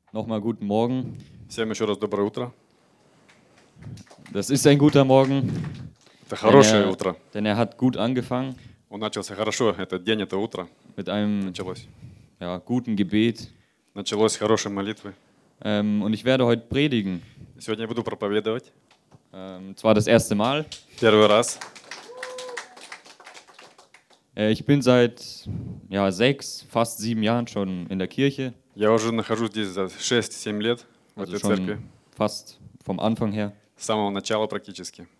Nochmal guten Morgen. Всем еще раз доброе утро. Das ist ein guter Morgen, Это хорошее denn утро. er hat gut angefangen Он начался хорошо, этот день, это утро mit einem началось. guten Gebet. Началось с хорошей молитвы. Und ich werde heute predigen. Сегодня я буду проповедовать. Zwar das erste Mal. Первый раз. Ich bin seit 6, fast 7 Jahren schon in der Kirche. Я уже нахожусь здесь за 6-7 лет в Also этой schon церкви. fast vom Anfang her. С самого начала практически.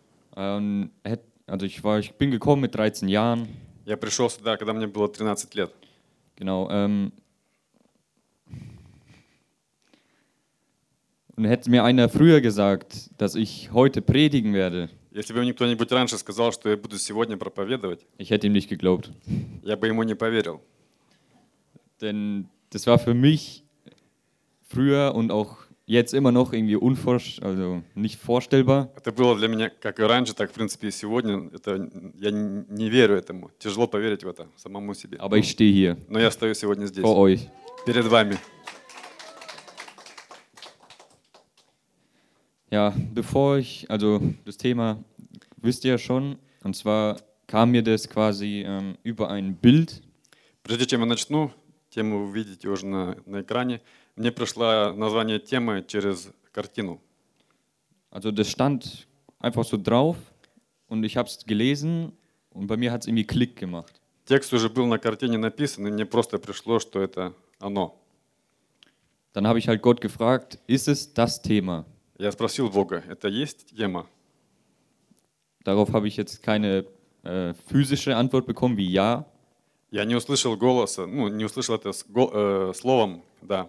Ich bin gekommen mit 13 Jahren. Я пришел сюда, когда мне было 13 лет. Genau. Und hätte mir einer früher gesagt, dass ich heute predigen werde, Если бы мне кто-нибудь раньше сказал, что я буду сегодня проповедовать, ich hätte ihm nicht geglaubt. я бы ему не поверил. Denn das war für mich früher und auch jetzt immer noch irgendwie nicht vorstellbar. Это было для меня как и раньше, так в принципе и сегодня. Я не верю этому. Тяжело поверить в это самому себе. Aber ich stehe hier Но я стою сегодня здесь, vor euch. перед вами. Ja, das Thema wisst ihr ja schon, und zwar kam mir das quasi über ein Bild. Прежде чем я начну, тему вы видите уже на экране, мне пришло название темы через картину. Also das stand einfach so drauf und ich habe es gelesen und bei mir hat es irgendwie Klick gemacht. Текст уже был на картине написан, и мне просто пришло, что это оно. Dann habe ich halt Gott gefragt, ist es das Thema? Я спросил Бога, это есть тема? Darauf habe ich jetzt keine physische Antwort bekommen wie ja. Я не услышал голоса, не услышал это словом, да.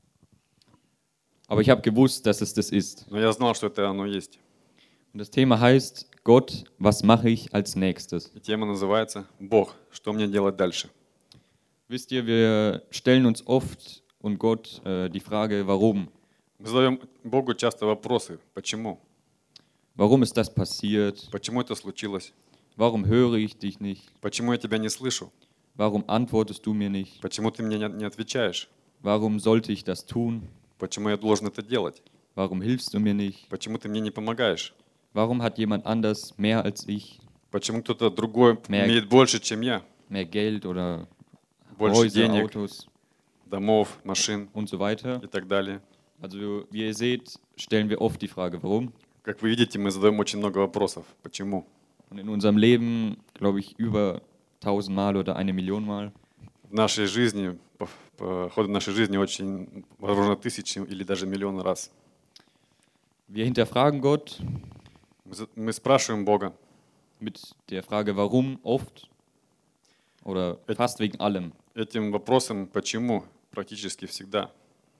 Aber ich habe gewusst, dass es das ist. Но я знал, что это оно есть. Und das Thema heißt, Gott, was mache ich als nächstes? И тема называется «Бог, что мне делать дальше?». Wisst ihr, wir stellen uns oft und Gott die Frage, warum? Мы задаем Богу часто вопросы. Почему? Warum ist das passiert? Почему это случилось? Warum höre ich dich nicht? Почему я тебя не слышу? Warum antwortest du mir nicht? Почему ты мне не отвечаешь? Warum sollte ich das tun? Почему я должен это делать? Warum hilfst du mir nicht? Почему ты мне не помогаешь? Warum hat jemand anders mehr als ich? Почему кто-то другой имеет больше, чем я? Mehr Geld oder Больше Häuser, денег, Autos домов, машин und so weiter. и так далее. Also wie ihr seht, stellen wir oft die Frage, warum? Как вы видите, мы задаем очень много вопросов. Почему? Und in unserem Leben, glaube ich, über 1000 Mal oder 1 Million Mal. В нашей жизни, по ходу нашей жизни очень, возможно, тысячи или даже миллионы раз. Wir hinterfragen Gott Мы спрашиваем Бога mit der Frage, warum oft oder fast wegen allem. этим вопросом, почему, практически всегда.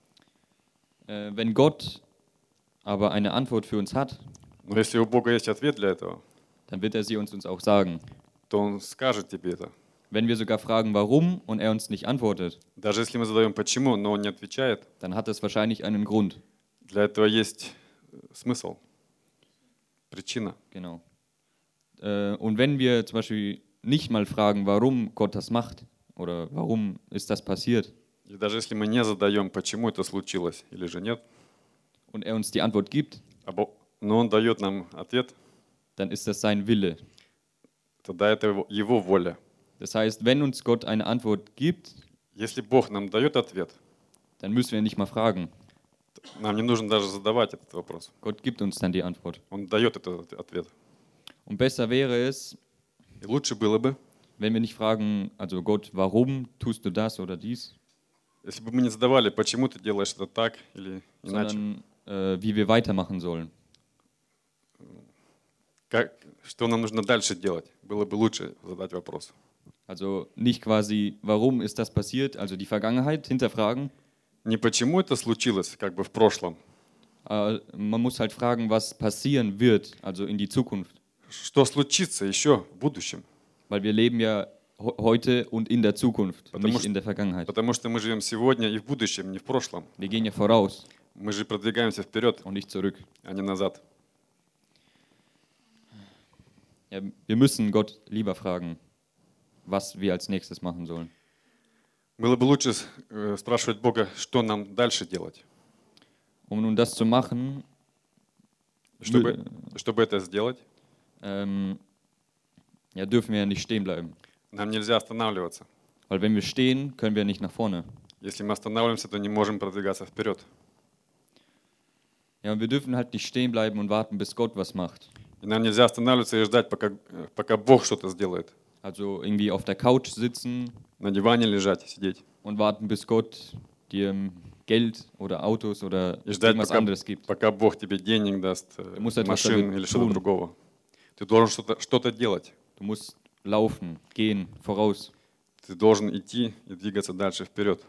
Wenn Gott aber eine Antwort für uns hat, Но если у Бога есть ответ для этого, dann wird er sie uns auch sagen. то Он скажет тебе это. Wenn wir sogar fragen, warum, und er uns nicht antwortet, Даже если мы задаем почему, но Он не отвечает, dann hat das wahrscheinlich einen Grund. для этого есть смысл, причина. Genau. Und wenn wir zum Beispiel nicht mal fragen, warum Gott das macht oder warum ist das passiert, И даже если мы не задаем, почему это случилось или же нет, und er uns die Antwort gibt, но Он дает нам ответ, dann ist das sein Wille. тогда это Его воля. Das heißt, wenn uns Gott eine Antwort gibt, Если Бог нам дает ответ, dann müssen wir nicht mal fragen. нам не нужно даже задавать этот вопрос. Gott gibt uns dann die Antwort. Он дает этот ответ. Und besser wäre es, И лучше было бы, wenn wir nicht fragen, also Gott, warum tust du das oder dies, если бы мы не задавали, почему ты делаешь это так или иначе, sondern wie wir weitermachen sollen. что нам нужно дальше делать, было бы лучше задать вопрос. Also nicht quasi, warum ist das passiert, also die Vergangenheit hinterfragen. Не почему это случилось, как бы в прошлом. Man muss halt fragen, was passieren wird, also in die Zukunft. Что случится еще в будущем? Weil wir leben ja heute und in der Zukunft, nicht in der Vergangenheit. Потому что мы живем сегодня и в будущем, не в прошлом. Wir gehen ja voraus Мы же продвигаемся вперед, und nicht zurück. а не назад. Ja, wir müssen Gott lieber fragen, was wir als nächstes machen sollen. Было бы лучше спрашивать Бога, что нам дальше делать. Um nun das zu machen, Чтобы это сделать, ja, dürfen wir ja nicht stehen bleiben. нам нельзя останавливаться. Weil wenn wir stehen, können wir nicht nach vorne. Если мы останавливаемся, то не можем продвигаться вперед. Ja, und wir dürfen halt nicht stehen bleiben und warten, bis Gott was macht. И нам нельзя останавливаться и ждать, пока Бог что-то сделает. Also irgendwie auf der Couch sitzen На диване лежать, сидеть. und warten, bis Gott dir Geld oder Autos oder И ждать, irgendwas anderes gibt. пока Бог тебе денег даст, musst etwas машин damit или что-то tun. другого. Ты должен что-то делать. Du musst laufen, gehen, voraus. Ты должен идти и двигаться дальше вперед.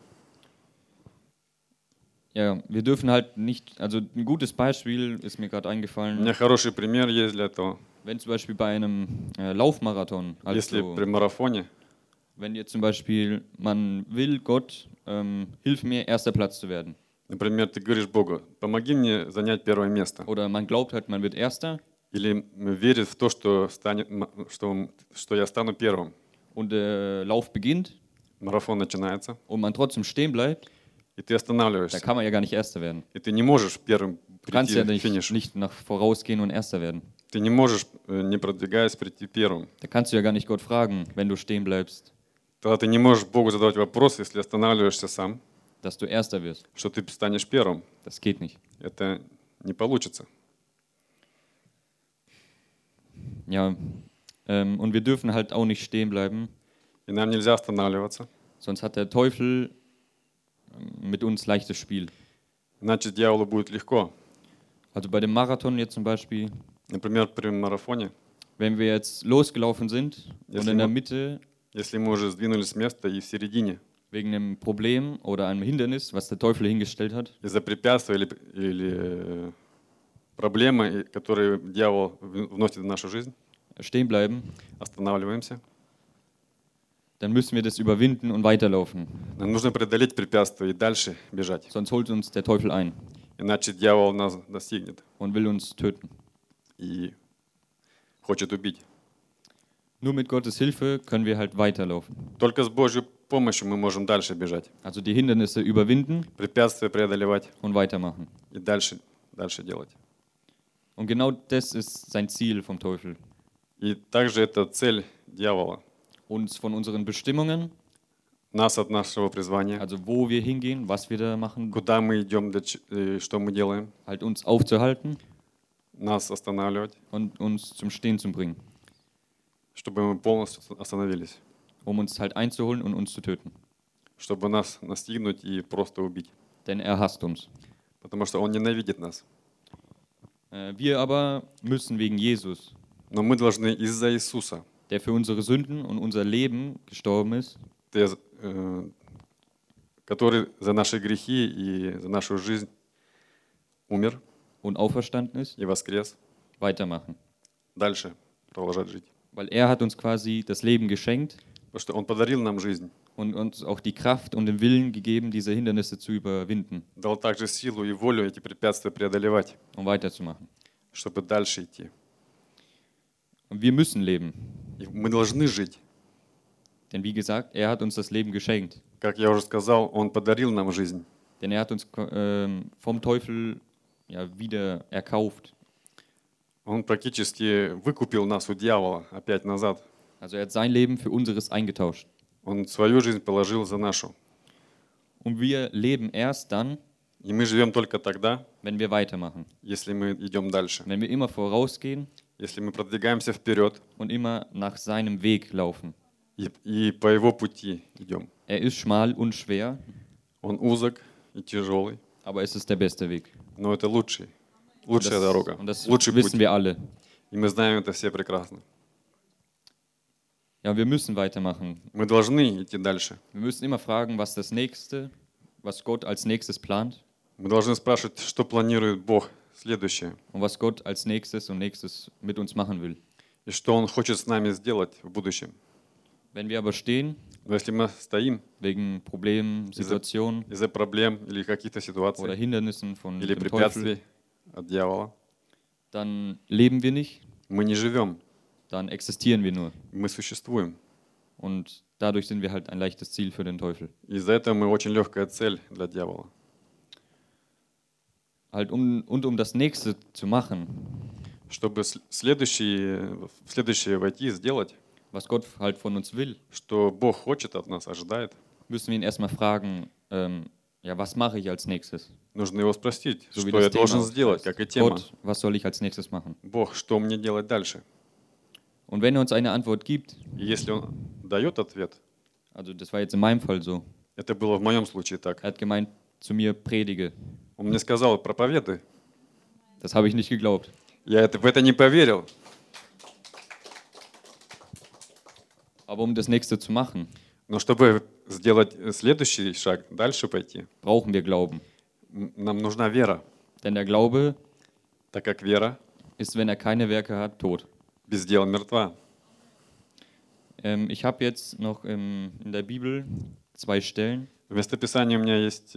Ja, wir dürfen halt nicht, also ein gutes Beispiel ist mir gerade У eingefallen, меня хороший пример есть для этого. wenn zum Beispiel bei einem Laufmarathon, Если also при марафоне, wenn jetzt zum Beispiel man will, Gott, hilf mir, erster Platz zu werden. например, ты говоришь Богу, помоги мне занять первое место. Oder man glaubt halt, man wird Erster Или верит в то, что я стану первым. und der Lauf beginnt Марафон начинается, und man trotzdem stehen bleibt, и ты da останавливаешься. kann man ja gar nicht Erster werden. И ты не можешь первым Du kannst прийти ja к финишу. nicht nach vorausgehen und Erster werden. Ты не можешь, не продвигаясь, прийти первым. Da kannst du ja gar nicht Gott fragen, wenn du stehen bleibst, Тогда ты не можешь Богу задавать вопрос, если останавливаешься сам, dass du Erster wirst. что ты станешь первым. Das geht nicht. Это не получится. Ja, und wir dürfen halt auch nicht stehen bleiben, И нам нельзя останавливаться. sonst hat der Teufel mit uns leichtes Spiel. Иначе дьяволу будет легко. Also bei dem Marathon jetzt zum Beispiel, Например, при марафоне, wenn wir jetzt losgelaufen sind und Если in der мы- Mitte если мы уже сдвинулись с места и в середине, wegen einem Problem oder einem Hindernis, was der Teufel hingestellt hat, из-за препятствия или проблемы, которые дьявол вносит в нашу жизнь, stehen bleiben, останавливаемся. dann müssen wir das überwinden und weiterlaufen. Нам нужно преодолеть препятствия и дальше бежать. Sonst holt uns der Teufel ein Иначе дьявол нас достигнет und will uns töten. и хочет убить. Nur mit Gottes Hilfe können wir halt weiterlaufen. Только с Божьей помощью мы можем дальше бежать, Also die Hindernisse überwinden препятствия преодолевать und weitermachen. и дальше делать. Und genau das ist sein Ziel vom Teufel. И также это цель дьявола. Uns von unseren Bestimmungen, Нас от нашего призвания, also wo wir hingehen, was wir da machen, куда мы идем, что мы делаем, halt uns aufzuhalten нас останавливать, und uns zum Stehen zu bringen, чтобы мы полностью остановились, um uns halt einzuholen und uns zu töten. чтобы нас настигнуть и просто убить. Denn er hasst uns. Потому что Он ненавидит нас. Wir aber müssen wegen Jesus, Но мы должны из-за Иисуса, der für unsere Sünden und unser Leben gestorben ist, который за наши грехи и за нашу жизнь умер und auferstanden ist, и воскрес, weitermachen. дальше продолжать жить. Weil er hat uns quasi das Leben geschenkt Потому что Он подарил нам жизнь, und uns auch die Kraft und den Willen gegeben, diese Hindernisse zu überwinden дал также силу и волю эти препятствия преодолевать, und weiterzumachen. чтобы дальше идти. Und wir müssen leben. И мы должны жить. Denn wie gesagt, er hat uns das Leben geschenkt. Как я уже сказал, Он подарил нам жизнь. Denn er hat uns vom Teufel ja, wieder erkauft. Он практически выкупил нас у дьявола опять назад. Also er hat sein Leben für unseres eingetauscht. Он свою жизнь положил за нашу. Und wir leben erst dann, И мы живем только тогда, wenn wir weitermachen. если мы идем дальше. Wenn wir immer vorausgehen Если мы продвигаемся вперед und immer nach seinem Weg laufen. и по Его пути идем. Er ist schmal und schwer, Он узок и тяжелый, aber es ist der beste Weg. но это лучшая дорога, Und das лучший wissen путь. wir alle. И мы знаем это все прекрасно. Ja, wir müssen weitermachen. Мы должны идти дальше. Wir müssen immer fragen, was das Nächste, was Gott als nächstes plant Мы должны спрашивать, что планирует Бог следующее, und was Gott als nächstes und nächstes mit uns machen will. и что Он хочет с нами сделать в будущем. Wenn wir aber stehen, Но если мы стоим wegen Problemen, Situationen из-за проблем или каких-то oder ситуаций, Hindernissen von или dem Teufel, препятствий от дьявола, dann leben wir nicht, мы не живем, dann existieren wir nur. мы существуем. Und dadurch sind wir halt ein leichtes Ziel für den Teufel. Из-за этого мы очень легкая цель для дьявола. Halt um das Nächste zu machen, Чтобы в следующее войти и сделать, was Gott halt von uns will, что Бог хочет от нас, ожидает, müssen wir ihn erstmal fragen, ja, was mache ich als nächstes? нужно его спросить, So wie что das я должен Thema сделать, heißt. как и тема. Gott, was soll ich als nächstes machen? Бог, что мне делать дальше? Und wenn er uns eine Antwort gibt, И если Он дает ответ, also das war jetzt in meinem Fall so, это было в моем случае так. er hat gemeint zu mir, predige. Он мне сказал, проповедуй. Das habe ich nicht geglaubt. Я в это не поверил. Aber um das Nächste zu machen, Но чтобы сделать следующий шаг, дальше пойти, brauchen wir Glauben. нам нужна вера. Denn der Glaube Так как вера ist, wenn er keine Werke hat, tot. без дела мертва. Ich habe jetzt noch in der Bibel 2 Stellen, В местописании у меня есть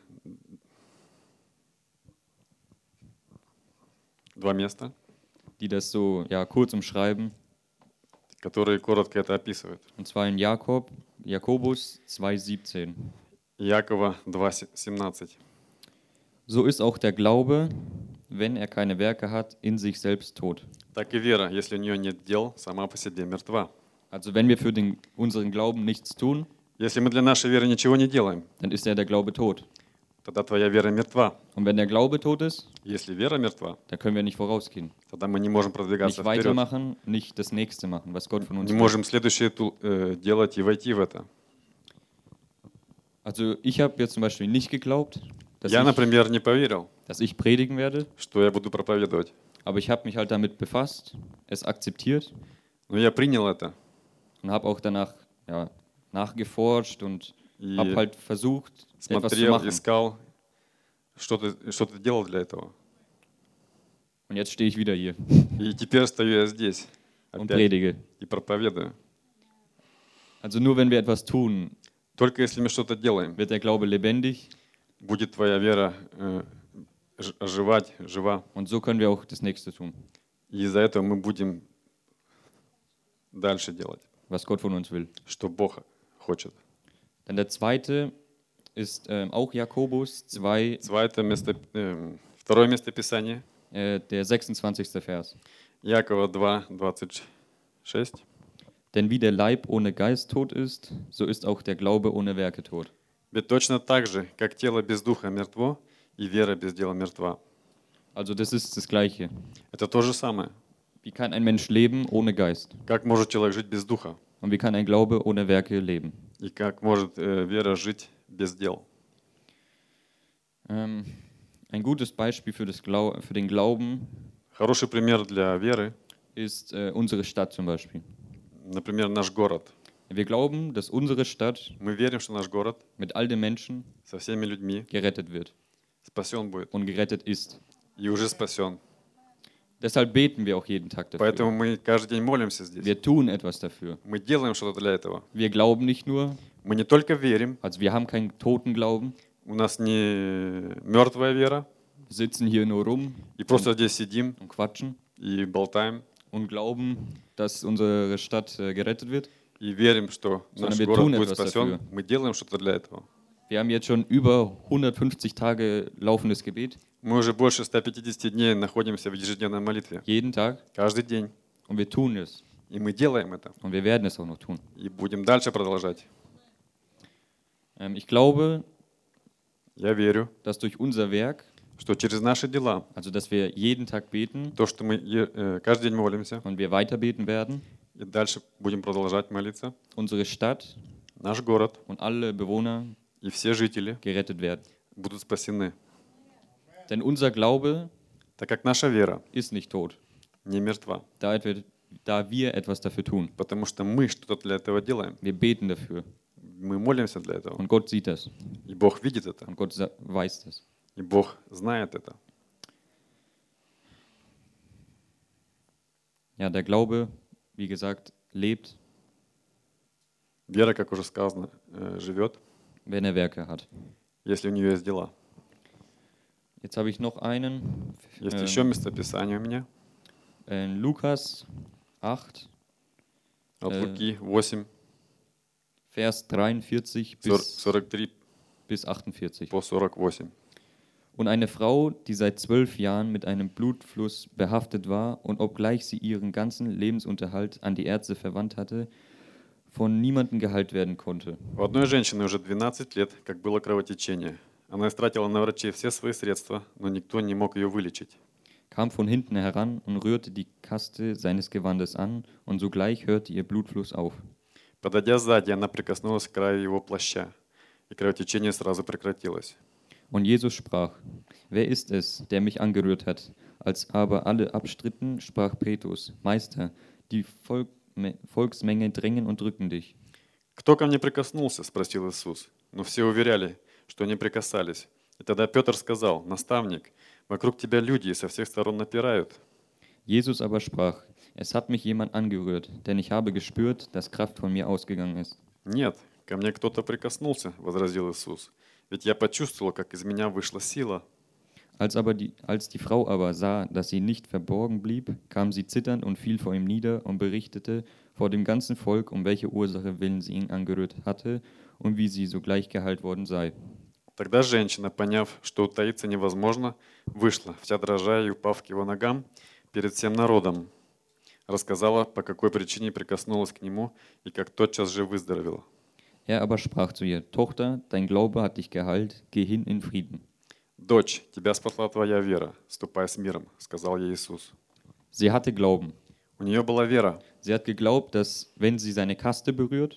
2 места, die das so ja, kurz umschreiben. которые коротко это описывают. Und zwar in Jakobus 2,17. Иакова 2,17. So ist auch der Glaube, wenn er keine Werke hat, in sich selbst tot. Так и вера, если у нее нет дел, сама по себе мертва. Also wenn wir für unseren Glauben nichts tun, Если мы для нашей веры ничего не делаем, dann ist der Glaube tot. тогда твоя вера мертва. Und wenn der Glaube tot ist, Если вера мертва, dann können wir nicht vorausgehen. тогда мы не можем продвигаться Nicht вперед. weitermachen, nicht das Nächste machen, was Gott von uns Не will. можем следующее делать и войти в это. Also ich habe jetzt zum Beispiel nicht geglaubt, Я, например, не поверил, dass ich predigen werde, что я буду проповедовать. aber ich habe mich halt damit befasst, es akzeptiert Но я принял это. und habe auch danach ja, nachgeforscht und И habe halt versucht, etwas zu смотрел, machen. искал, что ты делал для этого. Und jetzt stehe ich wieder hier И теперь стою я здесь und опять predige. и проповедую. Also nur wenn wir etwas tun, Только если мы что-то делаем, wird der Glaube lebendig будет твоя вера оживать, жива. und so können wir auch das Nächste tun, И из-за этого мы будем дальше делать, was Gott von uns will. что Бог хочет. Dann der zweite ist auch Jakobus 2, Второе место Писания, der 26. Vers. Иакова 2, 26. Denn wie der Leib ohne Geist tot ist, so ist auch der Glaube ohne Werke tot. Ведь точно так же, как тело без духа мертво, и вера без дела мертва. Also das ist das Gleiche. Это то же самое. Wie kann ein Mensch leben ohne Geist? Как может человек жить без духа? Und wie kann ein Glaube ohne Werke leben? И как может вера жить без дел? Ein gutes Beispiel für den Glauben Хороший пример для веры, ist unsere Stadt zum Beispiel. например, наш город. Wir glauben, dass unsere Stadt Мы верим, что наш город mit all den Menschen со всеми людьми gerettet wird спасен будет und gerettet ist. и уже спасен. Deshalb beten wir auch jeden Tag Поэтому dafür. мы каждый день молимся здесь. Wir tun etwas dafür. Мы делаем что-то для этого. Wir glauben nicht nur, Мы не только верим, also wir haben keinen toten Glauben, у нас не мертвая вера, sitzen hier nur rum и просто здесь сидим und quatschen и болтаем, und glauben, dass unsere Stadt gerettet wird. и верим, что Sondern наш wir город tun будет etwas спасен. dafür. Мы делаем что-то для этого. Wir haben jetzt schon über 150 Tage laufendes Gebet, Мы уже больше 150 дней находимся в ежедневной молитве. jeden Tag, Каждый день. und wir tun es. И мы делаем это. Und wir werden es auch noch tun. И будем дальше продолжать. Ich glaube, Я верю, dass durch unser Werk, что через наши дела, also dass wir jeden Tag beten то, что мы каждый день молимся, und wir weiter beten werden, и дальше будем продолжать молиться, unsere Stadt наш город und alle Bewohner и все жители gerettet werden. будут спасены. Denn unser Glaube Так как наша вера ist nicht tot, не мертва. da wir etwas dafür tun. Потому что мы что-то для этого делаем. Wir beten dafür Мы молимся для этого. und Gott sieht das И Бог видит это. und Gott weiß das. И Бог знает это. Ja, der Glaube, wie gesagt, lebt, Вера, как уже сказано, живет, wenn er Werke hat. если у нее есть дела. Jetzt habe ich noch einen. Есть еще местописание у меня. In Lukas 8, От Луки 8, Vers 43 43 bis 48. по 48. Und eine Frau, die seit 12 Jahren mit einem Blutfluss behaftet war und obgleich sie ihren ganzen Lebensunterhalt an die Ärzte verwandt hatte, von niemandem geheilt werden konnte. У одной женщины уже 12 лет, как было кровотечение. Она истратила на врачей все свои средства, но никто не мог ее вылечить. Kam von hinten heran und rührte die Kaste seines Gewandes an, und sogleich hörte ihr Blutfluss auf. Подойдя сзади, она прикоснулась к краю его плаща, и кровотечение сразу прекратилось. Und Jesus sprach: Wer ist es, der mich angerührt hat? Als aber alle abstritten, sprach Petrus: Meister, die Volksmenge drängen und drücken dich. «Кто ко мне прикоснулся?» – спросил Иисус. Но все уверяли, что не прикасались. И тогда Петр сказал: «Наставник, вокруг тебя люди со всех сторон напирают». Jesus aber sprach: Es hat mich jemand angerührt, denn ich habe gespürt, dass Kraft von mir ausgegangen ist. «Нет, ко мне кто-то прикоснулся», – возразил Иисус. «Ведь я почувствовал, как из меня вышла сила». Als die Frau aber sah, dass sie nicht verborgen blieb, kam sie zitternd und fiel vor ihm nieder und berichtete vor dem ganzen Volk, um welche Ursache willen sie ihn angerührt hatte und wie sie sogleich geheilt worden sei. Тогда женщина, поняв, что утаиться невозможно, вышла, вся дрожа и упав к его ногам перед всем народом, рассказала, по какой причине прикоснулась к нему и как тотчас же выздоровела. Er aber sprach zu ihr: Tochter, dein Glaube hat dich geheilt, geh hin in Frieden. «Дочь, тебя спасла твоя вера, ступай с миром», — сказал ей Иисус. Sie hatte Glauben. У нее была вера. Sie hat geglaubt, dass wenn sie seine Kaste berührt,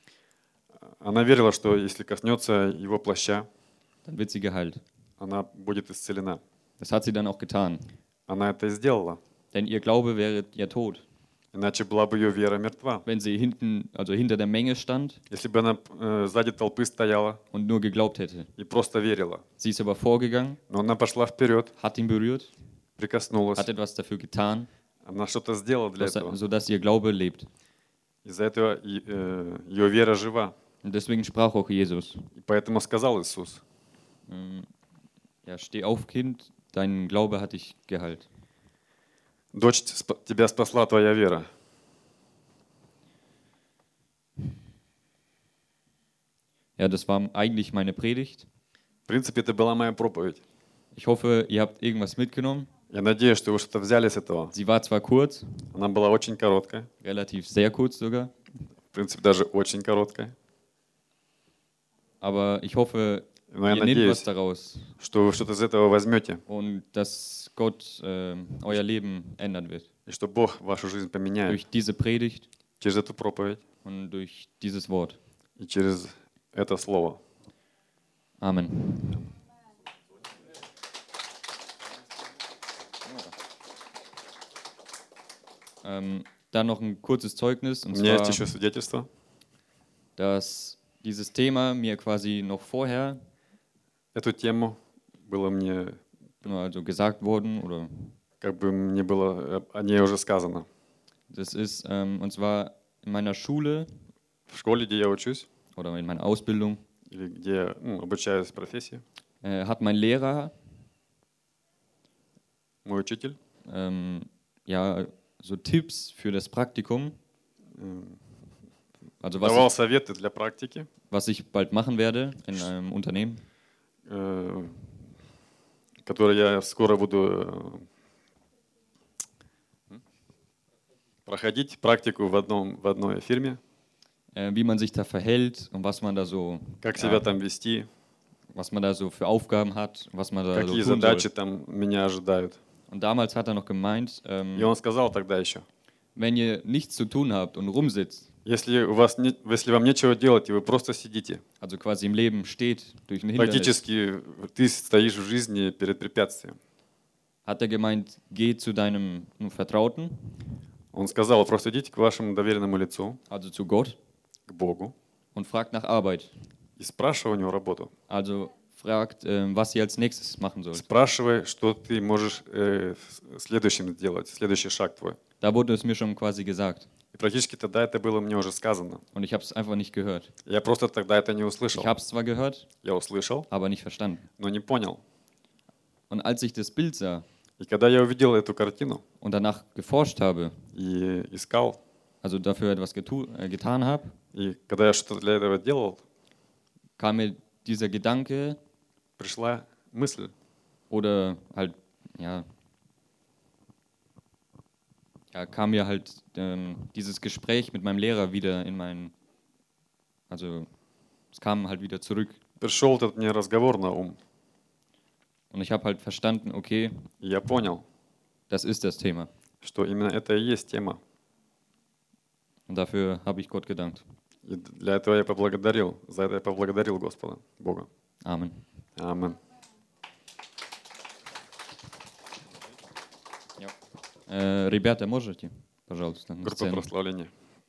Она верила, что если коснется его плаща, dann wird sie geheilt. она будет исцелена. Das hat sie dann auch getan. Она это и сделала. Denn ihr Glaube wäre ihr Tod. Иначе была бы ее вера мертва. Wenn sie hinter der Menge stand Если бы она сзади толпы стояла und nur geglaubt hätte. и просто верила. Sie ist aber vorgegangen, Но она пошла вперед, hat ihn berührt, прикоснулась. hat etwas dafür getan, Она что-то сделала для этого. sodass ihr Glaube lebt. Из-за этого ее вера жива. Und deswegen sprach auch Jesus: И поэтому сказал Иисус: Ja, steh auf, Kind, dein Glaube hat dich geheilt. «Дочь, тебя спасла твоя вера». Ja, das war eigentlich meine Predigt. В принципе, это была моя проповедь. Ich hoffe, ihr habt irgendwas mitgenommen. Я надеюсь, что вы что-то взяли с этого. Sie war zwar kurz, Она была очень короткая. relativ sehr kurz sogar, В принципе, даже очень короткая. aber ich hoffe, Но я ihr nehmt was надеюсь, daraus что вы что-то из этого возьмете. und dass Gott euer Leben ändern wird. И что Бог вашу жизнь поменяет Durch diese Predigt через эту проповедь und durch dieses Wort. и через это слово. Amen. Dann noch ein kurzes Zeugnis, У und меня есть zwar, еще свидетельство, dass dieses Thema mir quasi noch vorher эту тему было мне, also gesagt worden, oder как бы мне было о ней уже сказано. das ist, und zwar in meiner Schule В школе, где я учусь, oder in meiner Ausbildung, или где я обучаюсь профессии, hat mein Lehrer мой учитель ja so Tipps für das Praktikum, also давал советы для практики, was ich bald machen werde in einem Unternehmen. которые я скоро буду проходить практику в одной фирме, Wie man sich da verhält und was man da so, как себя там вести, was man da so für Aufgaben hat, was man da so какие tun задачи soll. там меня ожидают. Und damals hat er noch gemeint, И он сказал тогда еще: wenn ihr nichts zu tun habt und rumsitzt, если вам нечего делать, и вы просто сидите, also quasi im Leben steht durch ein Hindernis, практически ты стоишь в жизни перед препятствием. hat er gemeint, geh zu deinem Vertrauten, Он сказал: просто идите к вашему доверенному лицу, also zu Gott, к Богу, und fragt nach Arbeit. и спрашивай у него работу. Also fragt, was ihr als nächstes machen sollt. Спрашивай, что ты можешь следующим сделать, следующий шаг твой. Da wurde es mir schon quasi gesagt. И практически тогда это было мне уже сказано. Und ich habe es einfach nicht gehört. Я просто тогда это не услышал. Ich habe es zwar gehört, Я услышал, aber nicht verstanden. но не понял. Und als ich das Bild sah И когда я увидел эту картину und danach geforscht habe, и искал, also dafür etwas getan habe, И когда я что-то для этого делал, kam mir dieser Gedanke пришла мысль, oder halt, kam mir halt dieses Gespräch mit meinem Lehrer wieder also es kam halt wieder zurück. пришел этот мне разговор на ум. Und ich habe halt verstanden, okay, И я понял, das ist das Thema. что именно это и есть тема. Und dafür habe ich Gott gedankt. И для этого я поблагодарил, за это я поблагодарил Господа, Бога. Amen. Амин. Ребята, можете, пожалуйста, на Группа сцену? прославления.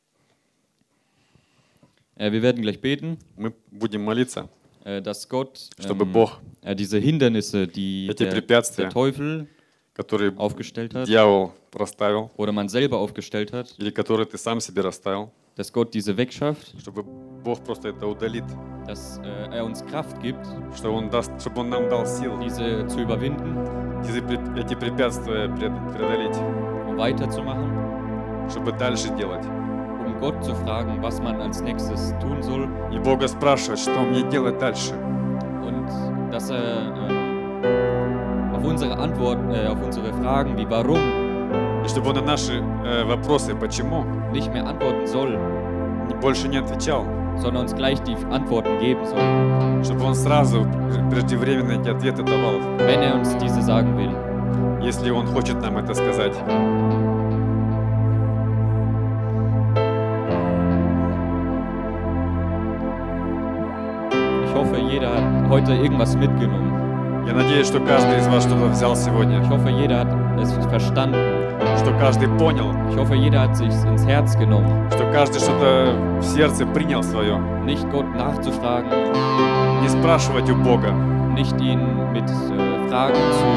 Wir werden gleich beten, Мы будем молиться, dass Gott чтобы Бог diese Hindernisse, die эти der препятствия, Teufel которые aufgestellt hat дьявол расставил, oder man selber aufgestellt hat, или которые ты сам себе расставил, dass Gott diese wegschafft, чтобы Бог просто это удалит, dass uns Kraft gibt, чтобы Он нам дал сил diese zu überwinden, эти препятствия преодолеть, weiterzumachen, чтобы дальше делать. Gott zu fragen, was man als nächstes tun soll. И Бога спрашивать, что мне делать дальше. Und dass auf unsere Fragen wie warum, и чтобы Он на наши вопросы почему nicht mehr antworten soll, больше не отвечал, sondern uns gleich die Antworten geben soll. Чтобы Он сразу преждевременно эти ответы давал. Wenn uns diese sagen will. Если Он хочет нам это сказать. Ich hoffe, jeder hat heute irgendwas mitgenommen. Я надеюсь, что каждый из вас что-то взял сегодня. Ich hoffe, jeder hat es verstanden. Что каждый понял. Ich hoffe, jeder hat sich ins Herz genommen. Что каждый что-то в сердце принял свое. Nicht Gott nachzufragen. Не спрашивать у Бога. Nicht ihn mit Fragen zu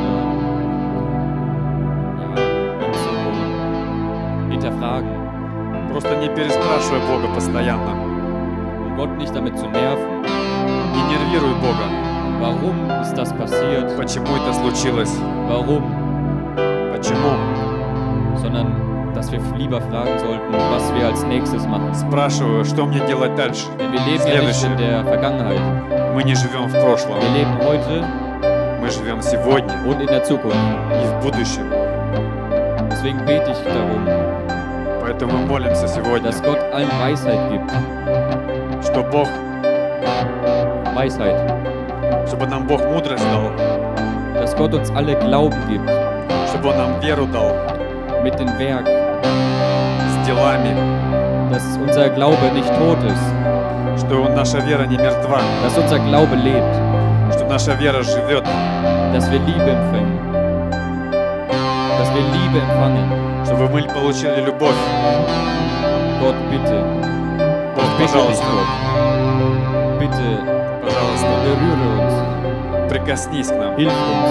hinterfragen. Просто не переспрашивай Бога постоянно. Gott nicht damit zu nerven. Не нервируй Бога. Warum ist das passiert? Почему это случилось? Warum? Почему? Sondern, dass wir lieber fragen sollten, was wir als nächstes machen. Спрашиваю, что мне делать дальше? Denn wir leben ja nicht in der Vergangenheit. Мы не живем в прошлом. Wir leben heute. Мы живем сегодня. Und in der Zukunft. И в будущем. Deswegen bete ich darum. Поэтому мы молимся сегодня. Dass Gott allen Weisheit gibt. Что Бог Weisheit. Чтобы нам Бог мудрость дал. Dass Gott uns alle Glauben gibt. Чтобы Он нам веру дал. Mit dem Werk. С делами. Dass unser Glaube nicht tot ist. Что наша вера не мертва. Dass unser Glaube lebt. Что наша вера живет. Dass wir Liebe empfangen. Dass wir Liebe empfangen. Чтобы мы получили любовь. Gott, bitte. Бог, пожалуйста. Bitte, пожалуйста, berühre uns. Прикоснись к нам. Hilf uns.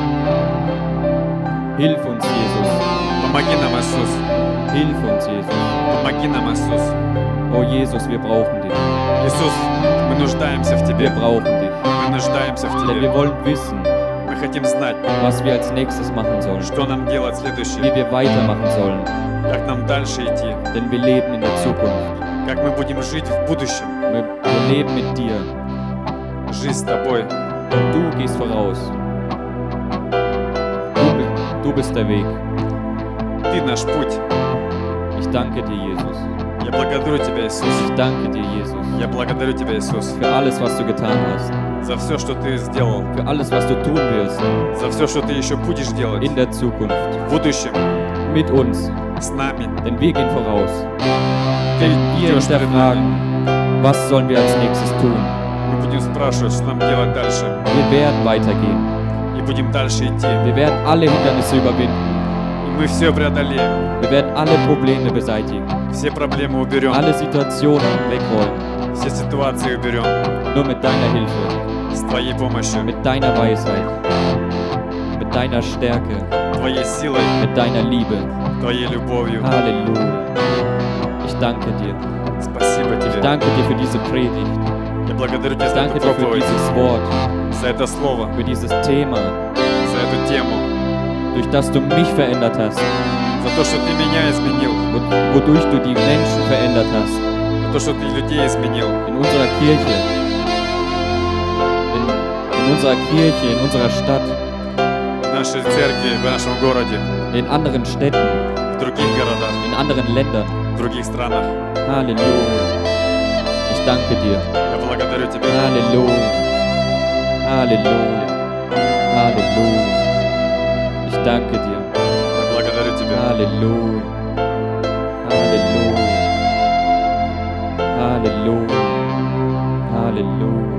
Hilf uns, Jesus. Помоги нам, Иисус. Hilf uns, Jesus. Помоги нам, Иисус. Oh Jesus, wir brauchen dich. Иисус, мы нуждаемся в Тебе. Wir brauchen dich. Мы нуждаемся в Denn wir Тебе. wollen wissen, Мы хотим знать, was wir als nächstes machen sollen. что нам делать Wie следующее, wir weitermachen sollen. как нам дальше идти, Denn wir leben in der Zukunft. как мы будем жить в будущем. Wir leben mit dir. Жизнь с Тобой. Und du gehst voraus. Du bist der Weg. Ты наш путь. Ich danke dir, Jesus. Я благодарю Тебя, Иисус. Ich danke dir, Jesus. Я благодарю Тебя, Иисус, Für alles, was du getan hast. за все, что Ты сделал, Für alles, was du tun wirst. за все, что Ты еще будешь делать In der Zukunft. в будущем Mit uns. с нами. Denn wir gehen voraus. Ты Denn wir идешь перед нами. hinterfragen, was sollen wir als nächstes tun. Мы будем спрашивать, что нам делать дальше. Wir werden weitergehen. И будем дальше идти. Wir werden alle Hindernisse überwinden. И мы все преодолеем. Wir werden alle Probleme beseitigen. Все проблемы уберем. Alle Situationen wegräumen. Все ситуации уберем. Nur mit deiner Hilfe. С Твоей помощью, Mit deiner Weisheit. Mit deiner Stärke. Твоей силой, Mit deiner Liebe. Твоей любовью. Halleluja. Ich danke dir. Спасибо Ich Тебе. danke dir für diese Predigt. Я благодарю Тебя Ich за danke эту dir für проповедь, dieses Wort, за это слово, für dieses Thema, за эту тему, durch das du mich verändert hast. За то, что Ты меня изменил. wodurch du die Menschen verändert hast. За то, что Ты людей изменил. In unserer Kirche, in unserer Kirche, in unserer Stadt, В нашей церкви, в нашем городе, in anderen Städten, в других городах, in anderen Ländern. в других странах. Halleluja. Ich danke dir. Я благодарю Тебя. Halleluja. Halleluja. Halleluja. Ich danke dir. Я благодарю Тебя. Halleluja. Halleluja. Halleluja. Halleluja.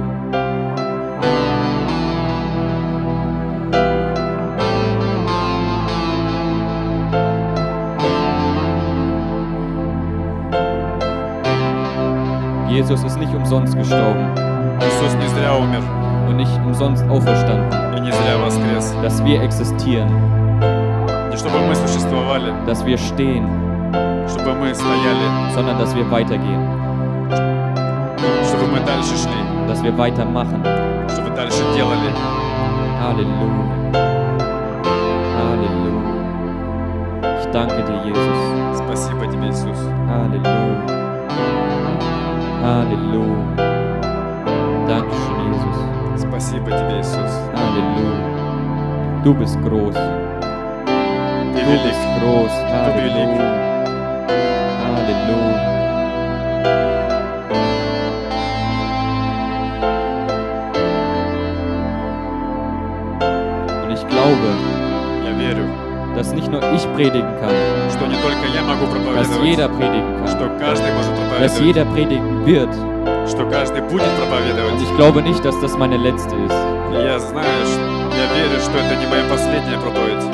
Jesus ist nicht umsonst gestorben Иисус не зря умер und nicht umsonst auferstanden, и не зря воскрес. dass wir existieren, Не чтобы мы существовали, dass wir stehen, чтобы мы стояли, sondern dass wir weitergehen, чтобы мы дальше шли, dass wir weitermachen. чтобы дальше делали. Halleluja. Halleluja. Ich danke dir, Jesus. Спасибо Тебе, Иисус. Halleluja. Halleluja. Dankeschön, Jesus. Спасибо Тебе, Иисус. Halleluja. Du bist groß. Ты Du велик. bist groß. Halleluja. Halleluja. Und ich glaube, Я верю, dass nicht nur ich predigen kann, что не только я могу dass jeder проповедовать, predigen kann, что каждый может dass проповедовать, jeder predigen wird. что каждый будет Und проповедовать. ich glaube nicht, dass das meine letzte ist. И я знаю, я верю, что это не моя последняя проповедь.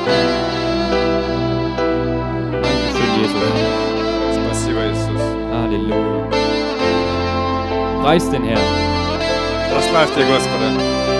Dankeschön, Jesus. Спасибо, Иисус. Halleluja. Preis den Herrn. Прославьте Господа.